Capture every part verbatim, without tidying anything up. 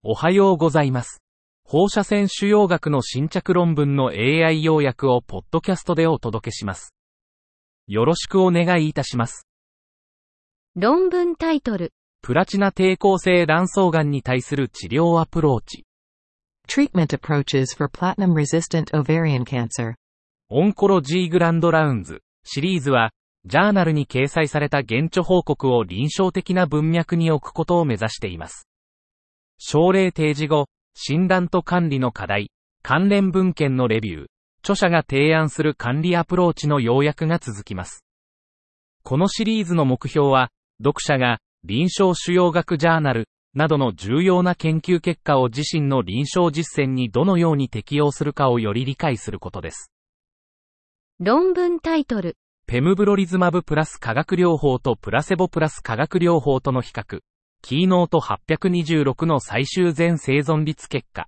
おはようございます。放射線腫瘍学の新着論文の エーアイ 要約をポッドキャストでお届けします。よろしくお願いいたします。 論文タイトル。 プラチナ抵抗性卵巣がんに対する治療アプローチ。 Treatment approaches for platinum-resistant ovarian cancer. オンコロジーグランドラウンズシリーズは、ジャーナルに掲載された原著報告を臨床的な文脈に置くことを目指しています。症例提示後、診断と管理の課題、関連文献のレビュー、著者が提案する管理アプローチの要約が続きます。このシリーズの目標は、読者が臨床腫瘍学ジャーナルなどの重要な研究結果を自身の臨床実践にどのように適用するかをより理解することです。 論文タイトル。 ペムブロリズマブプラス化学療法とプラセボプラス化学療法との比較。キーノートはちにろくの最終全生存率結果。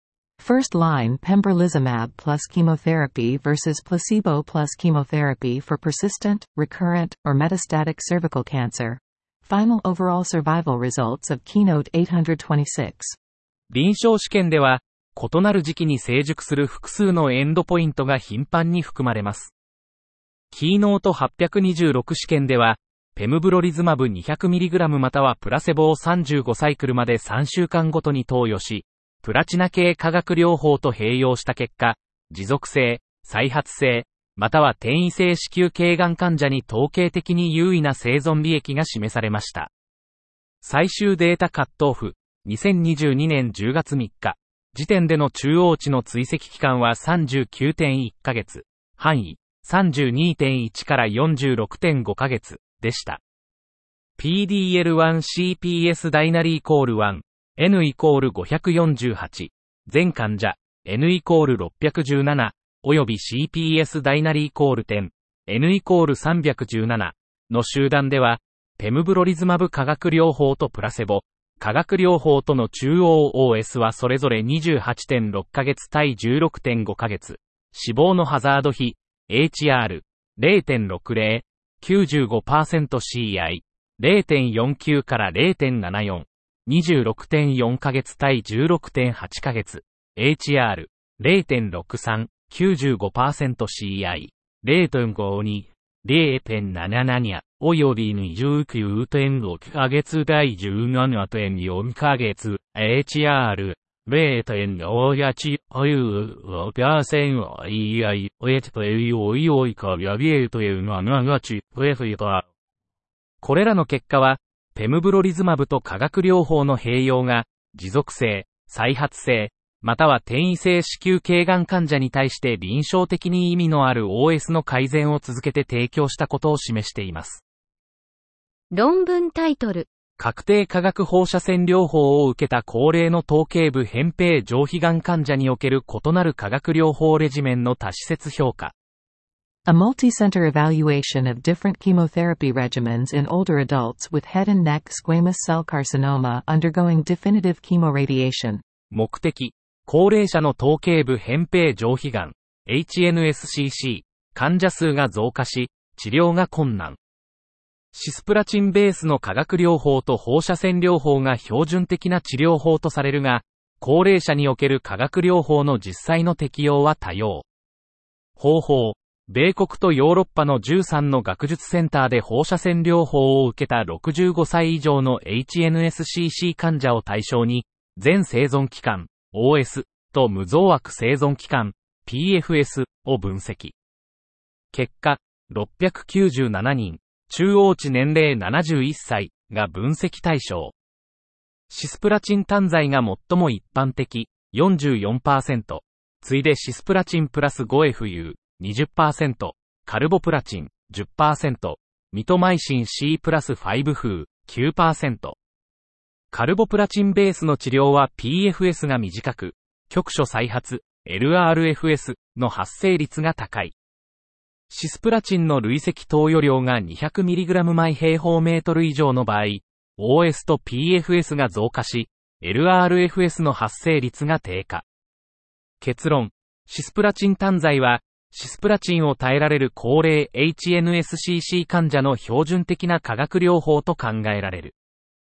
First line pembrolizumab plus chemotherapy versus placebo plus chemotherapy for persistent, recurrent, or metastatic cervical cancer. Final overall survival results of Keynoteはちにじゅうろく。 臨床試験では、異なる時期に成熟する複数のエンドポイントが頻繁に含まれます。キーノートはちにじゅうろく試験では、ペムブロリズマブ にひゃくミリグラム またはプラセボをさんじゅうごサイクルまでさんしゅうかんごとに投与し、プラチナ系化学療法と併用した結果、持続性、再発性、または転移性子宮頸がん患者に統計的に優位な生存利益が示されました。最終データカットオフ、にせんにじゅうにねんじゅうがつみっか、時点での中央値の追跡期間は さんじゅうきゅうてんいっかげつ、範囲 さんじゅうにてんいち から よんじゅうろくてんごかげつでした。ピーディーエルワンシーピーエス ダイナリイコールいち、N イコールごひゃくよんじゅうはち、全患者、N イコールろっぴゃくじゅうなな、および シーピーエス ダイナリイコールじゅう、N イコールさんびゃくじゅうななの集団では、ペムブロリズマブ化学療法とプラセボ、化学療法との中央 オーエス はそれぞれ にじゅうはちてんろっかげつ対 じゅうろくてんごかげつ、死亡のハザード比、エイチアール、れいてんろくぜろ、きゅうじゅうごパーセント シーアイ、れいてんよんきゅう から れいてんななよん、にじゅうろくてんよんかげつ対 じゅうろくてんはちかげつ、エイチアール、れいてんろくさん、きゅうじゅうごパーセント シーアイ、れいてんごに、れいてんななな および にじゅうきゅうてんろっかげつ対 じゅうななてんよんかげつ、エイチアール、れいてんごはち、おゆう、パーセント、イーアイ、エチペイオイオイカビアビエイトエウナナガチ、プエフィタ。これらの結果は、ペムブロリズマブと化学療法の併用が、持続性、再発性、または転移性子宮頸がん患者に対して臨床的に意味のある オーエス の改善を続けて提供したことを示しています。 論文タイトル。 確定化学放射線療法を受けた高齢の頭頸部扁平上皮がん患者における異なる化学療法レジメンの多施設評価。 A multi-center evaluation of different chemotherapy regimens in older adults with head and neck squamous cell carcinoma undergoing definitive chemoradiation。 目的、高齢者の頭頸部扁平上皮がん、エイチエヌエスシーシー、患者数が増加し、治療が困難。シスプラチンベースの化学療法と放射線療法が標準的な治療法とされるが、高齢者における化学療法の実際の適用は多様。方法、米国とヨーロッパのじゅうさんの学術センターで放射線療法を受けたろくじゅうごさい以上の エイチエヌエスシーシー 患者を対象に、全生存期間、オーエス と無増悪生存期間、ピーエフエス を分析。結果、ろっぴゃくきゅうじゅうななにん、中央値年齢ななじゅういっさいが分析対象。シスプラチン単剤が最も一般的、よんじゅうよんパーセント。次いでシスプラチンプラス ごエフユー、にじゅっパーセント。カルボプラチン、じゅっパーセント。ミトマイシン C プラス ごフー、きゅうパーセント。カルボプラチンベースの治療は ピーエフエス が短く、局所再発、エルアールエフエス の発生率が高い。シスプラチンの累積投与量が にひゃくミリグラム 毎平方メートル以上の場合、オーエス と ピーエフエス が増加し、エルアールエフエス の発生率が低下。結論、シスプラチン単剤は、シスプラチンを耐えられる高齢 エイチエヌエスシーシー 患者の標準的な化学療法と考えられる。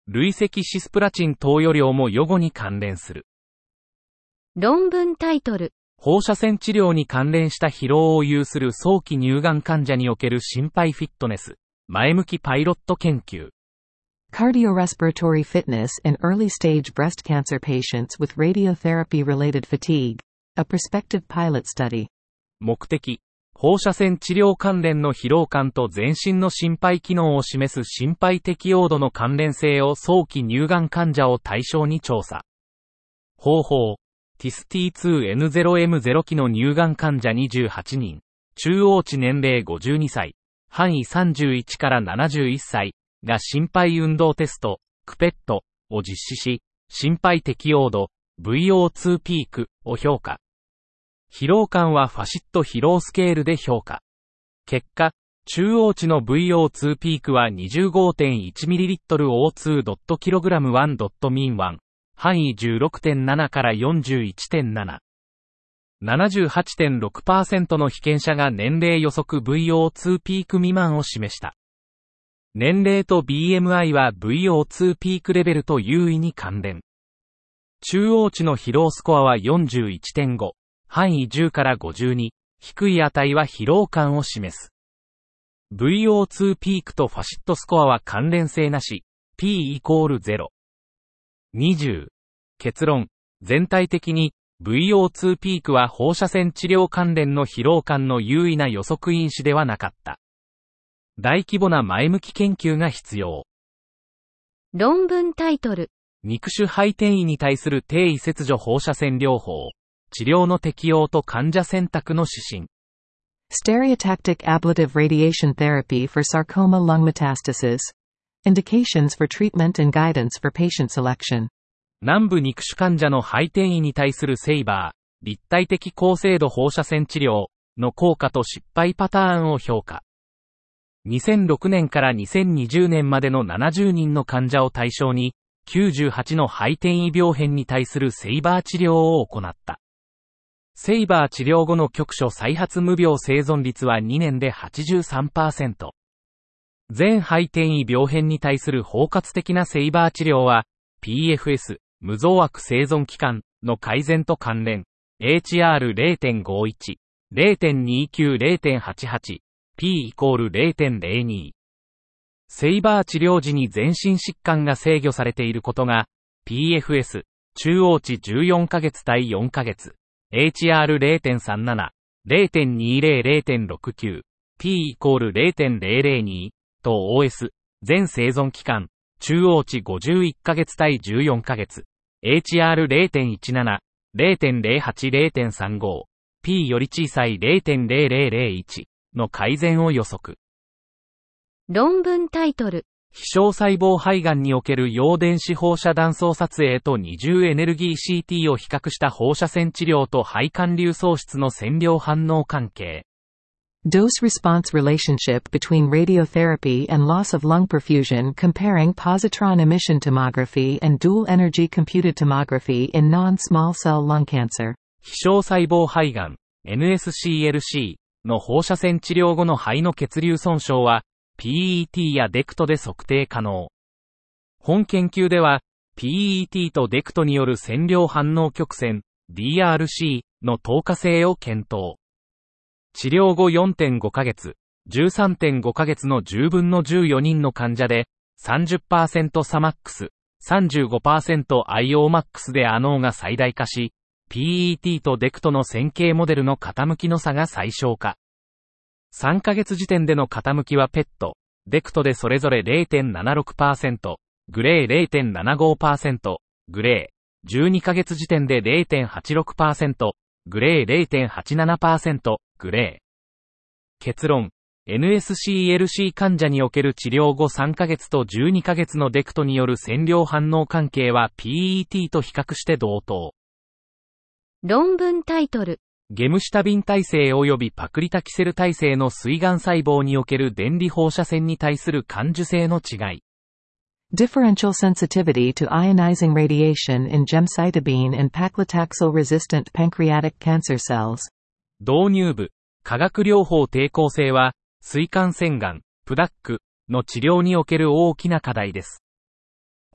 累積シスプラチン投与量も予後に関連する。 論文タイトル。 放射線治療に関連した疲労を有する早期乳がん患者における心肺フィットネス、前向きパイロット研究。 Cardiorespiratory fitness in early-stage breast cancer patients with radiotherapy-related fatigue. A prospective pilot study. 目的。放射線治療関連の疲労感と全身の心肺機能を示す心肺適応度の関連性を早期乳がん患者を対象に調査。方法。ティス ティーツーエヌゼロエムゼロ 期の乳がん患者にじゅうはちにん、中央値年齢ごじゅうにさい、範囲さんじゅういちからななじゅういっさいが心肺運動テスト、クペットを実施し、心肺適応度、ブイオーツー ピークを評価。疲労感はファシット疲労スケールで評価。結果、中央値の ブイオーツー ピークは にじゅうごてんいちミリリットル オーツー キログラム いち ミンワン、範囲 じゅうろくてんなな から よんじゅういちてんなな。ななじゅうはちてんろくパーセント の被験者が年齢予測 ブイオーツー ピーク未満を示した。年齢と ビーエムアイ は ブイオーツー ピークレベルと優位に関連。中央値の疲労スコアは よんじゅういってんご、範囲じゅうからごじゅうに、低い値は疲労感を示す。ブイオーツー ピークとファシットスコアは関連性なし、P イコールゼロ。にじゅう。結論。全体的に ブイオーツー ピークは放射線治療関連の疲労感の優位な予測因子ではなかった。大規模な前向き研究が必要。 論文タイトル。 肉種肺転移に対する低位切除放射線療法。治療の適用と患者選択の指針。 Stereotactic ablative radiation therapy for sarcoma lung metastasis. Indications for treatment and guidance for patient selection. 南部肉種患者の肺転移に対するセイバー、立体的高精度放射線治療の効果と失敗パターンを評価。にせんろくねんからにせんにじゅうねんまでのななじゅうにんの患者を対象に、きゅうじゅうはちの肺転移病変に対するセイバー治療を行った。セイバー治療後の局所再発無病生存率はにねんで はちじゅうさんパーセント。全肺転移病変に対する包括的なセイバー治療は、ピーエフエス、無増悪生存期間の改善と関連、エイチアールゼロてんごいち、ゼロてんにきゅう、ゼロてんはちはち、P イコール ゼロてんゼロに。セイバー治療時に全身疾患が制御されていることが、ピーエフエス、中央値じゅうよんかげつ対よんかげつ、エイチアールゼロてんさんなな、ゼロてんにじゅう、ゼロてんろくきゅう、P イコール ゼロてんゼロゼロに、と オーエス、全生存期間、中央値ごじゅういっかげつ対じゅうよんかげつ、エイチアールゼロてんいちなな、ゼロてんゼロはち、ゼロてんさんご、P より小さい ゼロてんゼロゼロゼロいち の改善を予測。 論文タイトル。 非小細胞肺がんにおける陽電子放射断層撮影と二重エネルギー シーティー を比較した放射線治療と肺管流喪失の線量反応関係。 Dose-response relationship between radiotherapy and loss of lung perfusion comparing positron emission tomography and dual-energy computed tomography in non-small cell lung cancer. 非小細胞肺がん エヌエスシーエルシー の放射線治療後の肺の血流損傷は ピーイーティー やデクトで測定可能。本研究では ピーイーティー とデクトによる線量反応曲線 ディーアールシー の透過性を検討。治療後 よんてんごかげつ、じゅうさんてんごかげつのじゅうぶんのじゅうよにんの患者で さんじゅっパーセント サマックス、さんじゅうごパーセント アイオーマックス でアノーが最大化し、ピーイーティー とデクトの線形モデルの傾きの差が最小化。さんかげつ時点での傾きはペット、デクトでそれぞれ ゼロてんななろくパーセント、グレー ゼロてんななごパーセント、グレー、じゅうにかげつ時点で ゼロてんはちろくパーセント、グレー ゼロてんはちななパーセント、グレー。結論、エヌエスシーエルシー 患者における治療後さんかげつとじゅうにかげつのデクトによる線量反応関係は ピーイーティー と比較して同等。 論文タイトル。 ゲムシュタビン耐性及びパクリタキセル耐性の膵がん細胞における電離放射線に対する感受性の違い。 Differential sensitivity to ionizing radiation in gemcitabine and paclitaxel-resistant pancreatic cancer cells. 導入部、化学療法抵抗性は、膵管腺がん、プダックの治療における大きな課題です。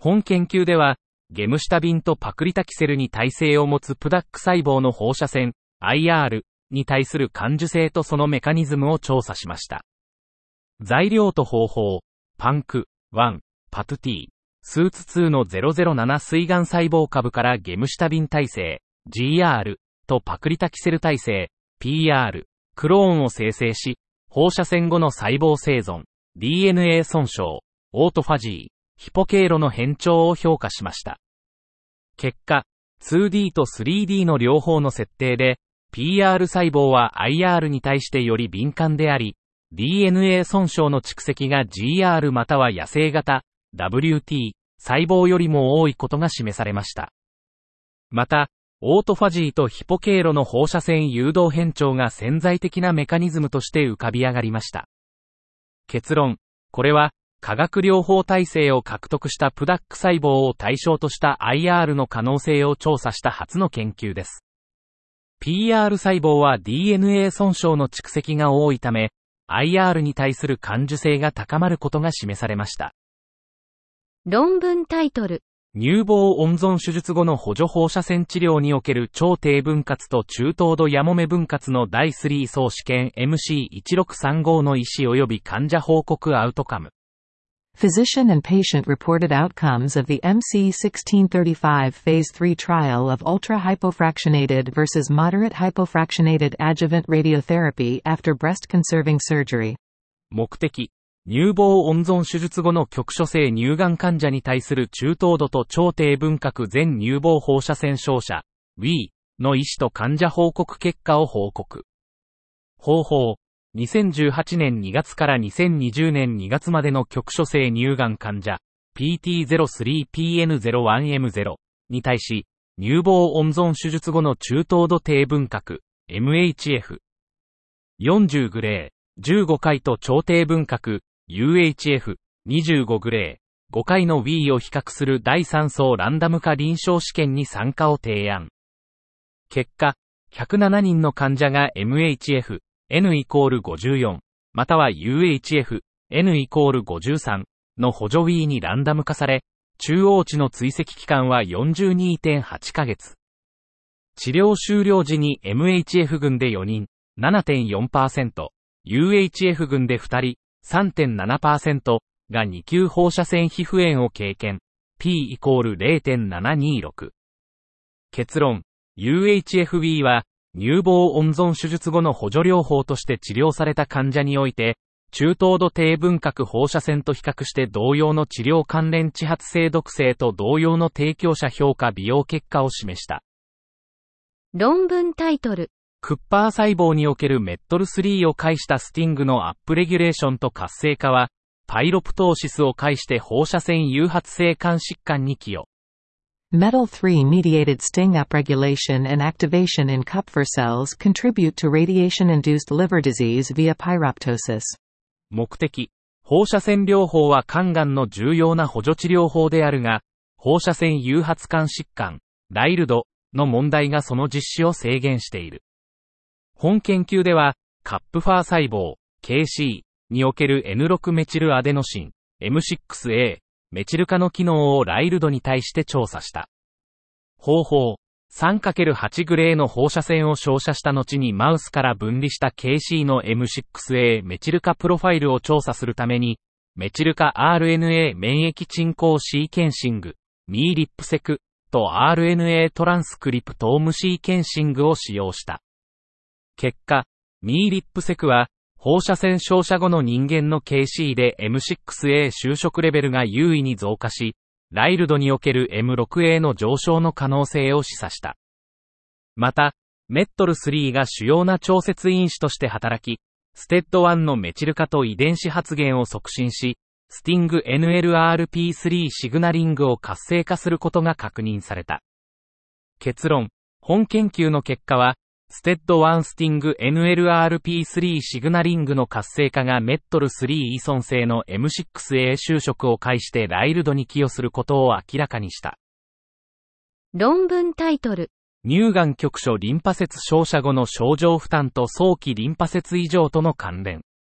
本研究では、ゲムシタビンとパクリタキセルに耐性を持つプダック細胞の放射線、アイアール に対する感受性とそのメカニズムを調査しました。材料と方法、パンク、ワン、パトゥティ、スーツツーのゼロゼロなな膵がん細胞株からゲムシタビン耐性、ジーアール とパクリタキセル耐性、ピーアール、クローンを生成し、放射線後の細胞生存、ディーエヌエー 損傷、オートファジー、ヒポ経路の変調を評価しました。結果、ツーディー とスリーディー の両方の設定で、ピーアール 細胞は アイアール に対してより敏感であり、ディーエヌエー 損傷の蓄積が ジーアール または野生型、ダブリューティー、細胞よりも多いことが示されました。また、オートファジーとヒポ経路の放射線誘導変調が潜在的なメカニズムとして浮かび上がりました。結論、これは、化学療法耐性を獲得したプダック細胞を対象とした アイアール の可能性を調査した初の研究です。ピーアール 細胞は ディーエヌエー 損傷の蓄積が多いため、アイアール に対する感受性が高まることが示されました。 論文タイトル。 乳房温存手術後の補助放射線治療における超低分割と中等度やもめ分割のだいさん相試験 エムシーいちろくさんご の医師及び患者報告アウトカム。 Physician and patient reported outcomes of the M C sixteen thirty-five Phase three trial of ultra-hypofractionated versus moderate hypofractionated adjuvant radiotherapy after breast-conserving surgery. 目的、乳房温存手術後の局所性乳がん患者に対する中等度と超低分割全乳房放射線照射 ウィー の医師と患者報告結果を報告。方法、にせんじゅうはちねんにがつからにせんにじゅうねんにがつまでの局所性乳がん患者 ピーティーゼロスリーピーエヌゼロワンエムゼロ に対し乳房温存手術後の中等度低分割 エムエイチエフ よんじゅうグレーじゅうごかいと超低分割 ユーエイチエフ にじゅうごグレーごかいの ウィー を比較するだいさん相ランダム化臨床試験に参加を提案。結果、ひゃくななにんの患者が エムエイチエフN イコールごじゅうよん、または ユーエイチエフ、N イコールごじゅうさんの補助 ウィー にランダム化され、中央値の追跡期間は よんじゅうにてんはちかげつ。治療終了時に エムエイチエフ 群でよにん、ななてんよんパーセント、ユーエイチエフ 群でふたり、さんてんななパーセント がに級放射線皮膚炎を経験、P イコール ゼロてんななにろく。結論、ユーエイチエフ ウィー は、乳房温存手術後の補助療法として治療された患者において、中等度低分割放射線と比較して同様の治療関連揮発性毒性と同様の提供者評価美容結果を示した。 論文タイトル。 クッパー細胞におけるメットルスリーを介したスティングのアップレギュレーションと活性化は、パイロプトーシスを介して放射線誘発性肝疾患に寄与。 メタルスリー mediated sting upregulation and activation in Kupffer cells contribute to radiation-induced liver disease via pyroptosis. 目的、放射線療法は肝がんの重要な補助治療法であるが、放射線誘発肝疾患、ライルドの問題がその実施を制限している。本研究では、カップファー細胞、ケーシー における エヌろく メチルアデノシン、エムシックスエー、メチル化の機能をライルドに対して調査した。方法、さんかけるはち グレーの放射線を照射した後にマウスから分離した ケーシー の エムシックスエー メチル化プロファイルを調査するために、メチル化 アールエヌエー 免疫鎮降シーケンシング、ミーリップセクと アールエヌエー トランスクリプトームシーケンシングを使用した。結果、ミーリップセクは、放射線照射後の人間の ケーシー で エムシックスエー 収縮レベルが優位に増加し、ライルドにおける エムろくエー の上昇の可能性を示唆した。また、メットルスリーが主要な調節因子として働き、ステッドワンのメチル化と遺伝子発現を促進し、スティング エヌエルアールピースリー シグナリングを活性化することが確認された。結論、本研究の結果は、ステッドワンスティング エヌエルアールピースリー シグナリングの活性化がメットルスリー依存性の エムシックスエー 収縮を介してライルドに寄与することを明らかにした。 論文タイトル。 乳がん局所リンパ節照射後の症状負担と早期リンパ節異常との関連。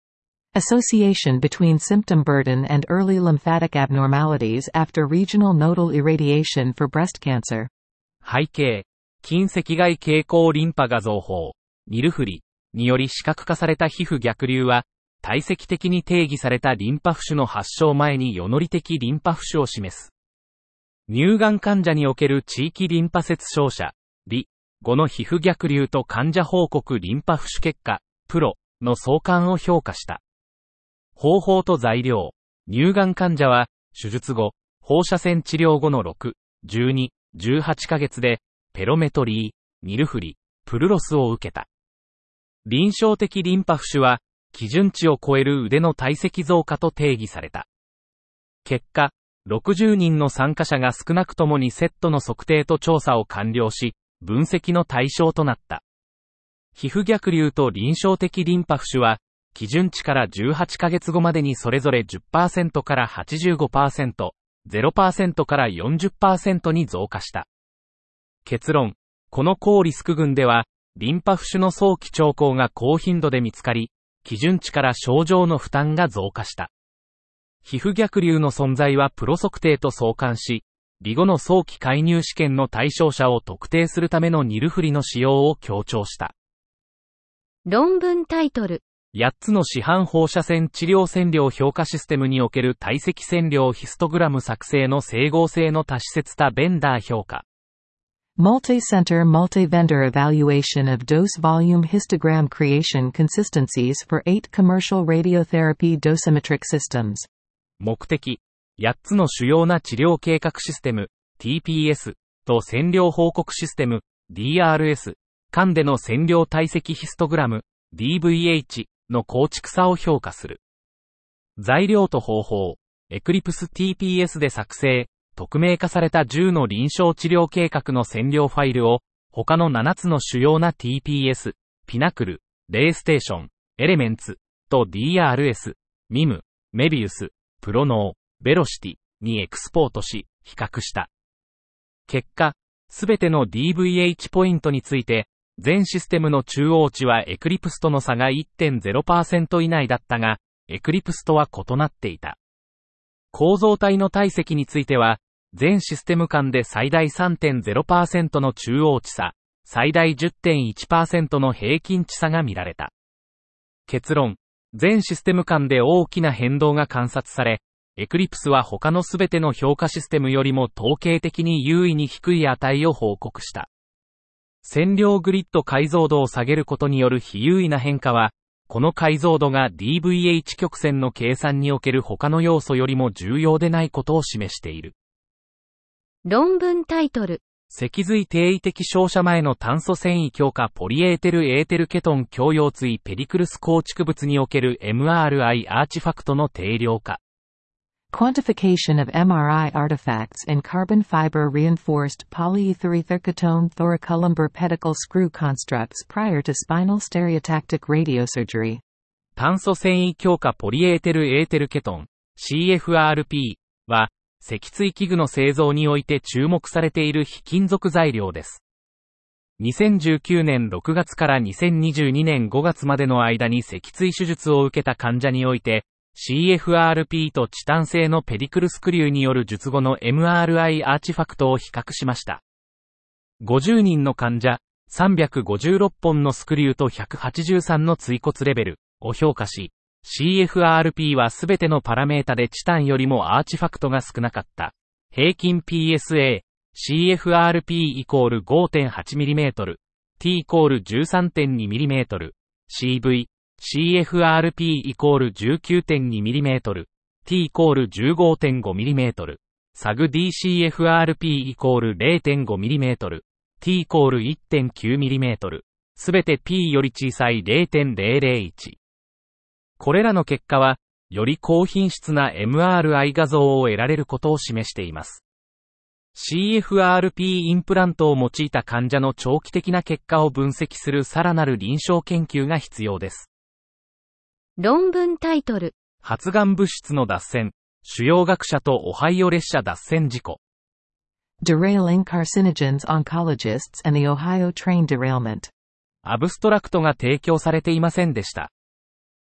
Association between symptom burden and early lymphatic abnormalities after regional nodal irradiation for breast cancer. 背景、近赤外蛍光リンパ画像法、ニルフリにより視覚化された皮膚逆流は、体積的に定義されたリンパ浮腫の発症前に予乗的リンパ浮腫を示す。乳がん患者における地域リンパ節照射、リ後の皮膚逆流と患者報告リンパ浮腫結果、プロの相関を評価した。方法と材料、乳がん患者は、手術後、放射線治療後のろく、じゅうに、じゅうはちかげつで、ペロメトリー、ニルフリ、プルロスを受けた。臨床的リンパ浮腫は、基準値を超える腕の体積増加と定義された。結果、ろくじゅうにんの参加者が少なくともにセットの測定と調査を完了し、分析の対象となった。皮膚逆流と臨床的リンパ浮腫は、基準値からじゅうはちかげつごまでにそれぞれ じゅっパーセント から はちじゅうごパーセント、ゼロパーセント から よんじゅっパーセント に増加した。結論、この高リスク群では、リンパ浮腫の早期兆候が高頻度で見つかり、基準値から症状の負担が増加した。皮膚逆流の存在はプロ測定と相関し、離後の早期介入試験の対象者を特定するためのニルフリの使用を強調した。 論文タイトル。 やっつの市販放射線治療線量評価システムにおける体積線量ヒストグラム作成の整合性の多施設多ベンダー評価。 Multi-center multi-vendor evaluation of dose volume histogram creation consistencies for eight commercial radiotherapy dosimetric systems. 目的、やっつの主要な治療計画システム、ティーピーエス と線量報告システム、ディーアールエス、間での線量体積ヒストグラム、ディーブイエイチ の構築差を評価する。材料と方法、エクリプス ティーピーエス で作成、匿名化されたじゅうの臨床治療計画の線量ファイルを、他のななつの主要な ティーピーエス、ピナクル、レイステーション、エレメンツ、と ディーアールエス、ミム、メビウス、プロノー、ベロシティにエクスポートし、比較した。結果、すべての ディーブイエイチ ポイントについて、全システムの中央値はエクリプスとの差が いってんゼロパーセント 以内だったが、エクリプスとは異なっていた。構造体の体積については、全システム間で最大 さんてんゼロパーセント の中央値差、最大 じゅってんいちパーセント の平均値差が見られた。結論、全システム間で大きな変動が観察され、エクリプスは他のすべての評価システムよりも統計的に優位に低い値を報告した。線量グリッド解像度を下げることによる非優位な変化は、この解像度が ディーブイエイチ 曲線の計算における他の要素よりも重要でないことを示している。 論文タイトル。 脊髄定位的照射前の炭素繊維強化ポリエーテルエーテルケトン強腰椎ペディクルス構築物における エムアールアイ アーチファクトの定量化。 Quantification ofエムアールアイ artifacts in carbon fiber reinforced polyetherethyrketone thoracolumbar pedicle screw constructs prior to spinal stereotactic radiosurgery. 炭素繊維強化ポリエーテルエーテルケトン シーエフアールピー は脊椎器具の製造において注目されている非金属材料です。にせんじゅうきゅうねんろくがつからにせんにじゅうにねんごがつまでの間に脊椎手術を受けた患者において、シーエフアールピー とチタン製のペディクルスクリューによる術後の エムアールアイ アーチファクトを比較しました。ごじゅうにんの患者、さんびゃくごじゅうろっぽんのスクリューとひゃくはちじゅうさんの椎骨レベルを評価し、シーエフアールピー はすべてのパラメータでチタンよりもアーチファクトが少なかった。平均 ピーエスエー、シーエフアールピー イコール ごてんはちミリメートル、T イコール じゅうさんてんにミリメートル、シーブイ、シーエフアールピー イコール じゅうきゅうてんにミリメートル、T イコール じゅうごてんごミリメートル、サグ ディーシーエフアールピー イコール れいてんごミリメートル、T イコール いってんきゅうミリメートル、すべて P より小さい れいてんゼロゼロいち。これらの結果は、より高品質な エムアールアイ 画像を得られることを示しています。シーエフアールピー インプラントを用いた患者の長期的な結果を分析するさらなる臨床研究が必要です。 論文タイトル。 発がん物質の脱線、主要学者とオハイオ列車脱線事故。 Derailing carcinogens oncologists and the Ohio train derailment。 アブストラクトが提供されていませんでした。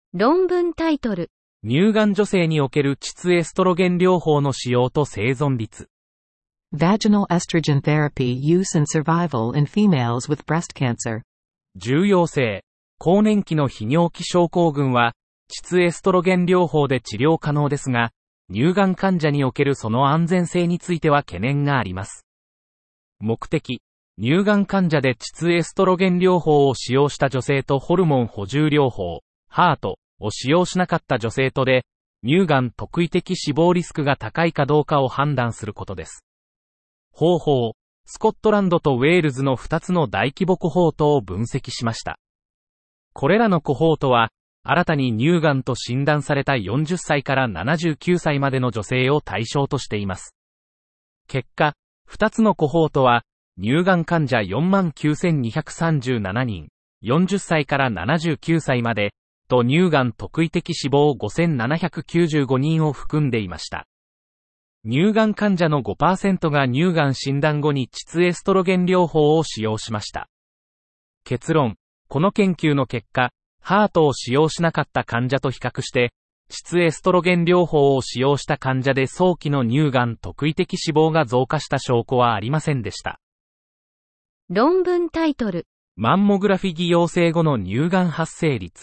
論文タイトル。 乳がん女性における膣エストロゲン療法の使用と生存率。 Vaginal estrogen therapy use and survival in females with breast cancer. 重要性。更年期の泌尿器症候群は、膣エストロゲン療法で治療可能ですが、乳がん患者におけるその安全性については懸念があります。目的。乳がん患者で膣エストロゲン療法を使用した女性とホルモン補充療法、ハートを使用しなかった女性とで、乳がん特異的死亡リスクが高いかどうかを判断することです。方法。スコットランドとウェールズのふたつの大規模コホートを分析しました。これらのコホートは、新たに乳がんと診断されたよんじゅっさいからななじゅうきゅうさいまでの女性を対象としています。結果、ふたつのコホートは、乳がん患者 よんまんきゅうせんにひゃくさんじゅうななにん、よんじゅっさいからななじゅうきゅうさいまで、と乳がん特異的死亡ごせんななひゃくきゅうじゅうごにんを含んでいました。乳がん患者の ごパーセント が乳がん診断後に膣エストロゲン療法を使用しました。結論。この研究の結果、ハートを使用しなかった患者と比較して、膣エストロゲン療法を使用した患者で早期の乳がん特異的死亡が増加した証拠はありませんでした。 論文タイトル。 マンモグラフィ偽陽性後の乳がん発生率。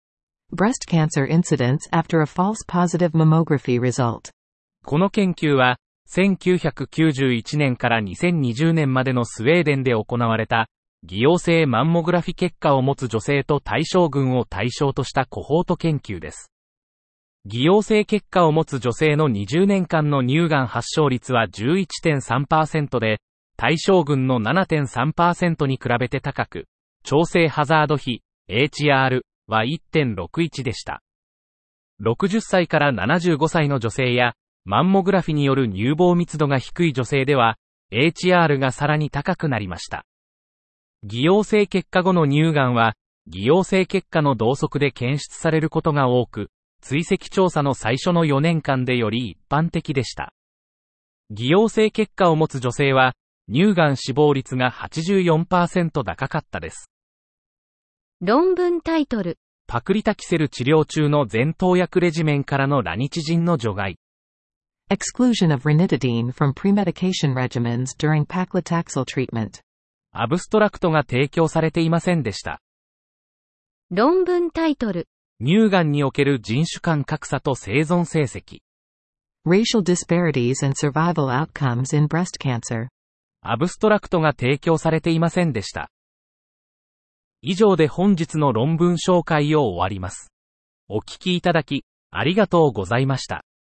Breast cancer incidence after a false positive mammography result. この研究は、せんきゅうひゃくきゅうじゅういちねんからにせんにじゅうねんまでのスウェーデンで行われた、偽陽性マンモグラフィ結果を持つ女性と対象群を対象としたコホート研究です。偽陽性結果を持つ女性のにじゅうねんかんの乳がん発症率は じゅういってんさんパーセント で、対象群の ななてんさんパーセント に比べて高く、調整ハザード比、エイチアール は いってんろくいち でした。ろくじゅっさいからななじゅうごさいの女性や、マンモグラフィによる乳房密度が低い女性では、エイチアール がさらに高くなりました。偽陽性結果後の乳がんは、偽陽性結果の同側で検出されることが多く、追跡調査の最初のよねんかんでより一般的でした。偽陽性結果を持つ女性は、乳がん死亡率が はちじゅうよんパーセント 高かったです。 論文タイトル。 パクリタキセル治療中の前頭薬レジメンからのラニチジンの除外。 Exclusion of ranitidine from premedication regimens during paclitaxel treatment. アブストラクトが提供されていませんでした。 論文タイトル。 乳がんにおける人種間格差と生存成績。 Racial disparities and survival outcomes in breast cancer. アブストラクトが提供されていませんでした。以上で本日の論文紹介を終わります。お聞きいただき、ありがとうございました。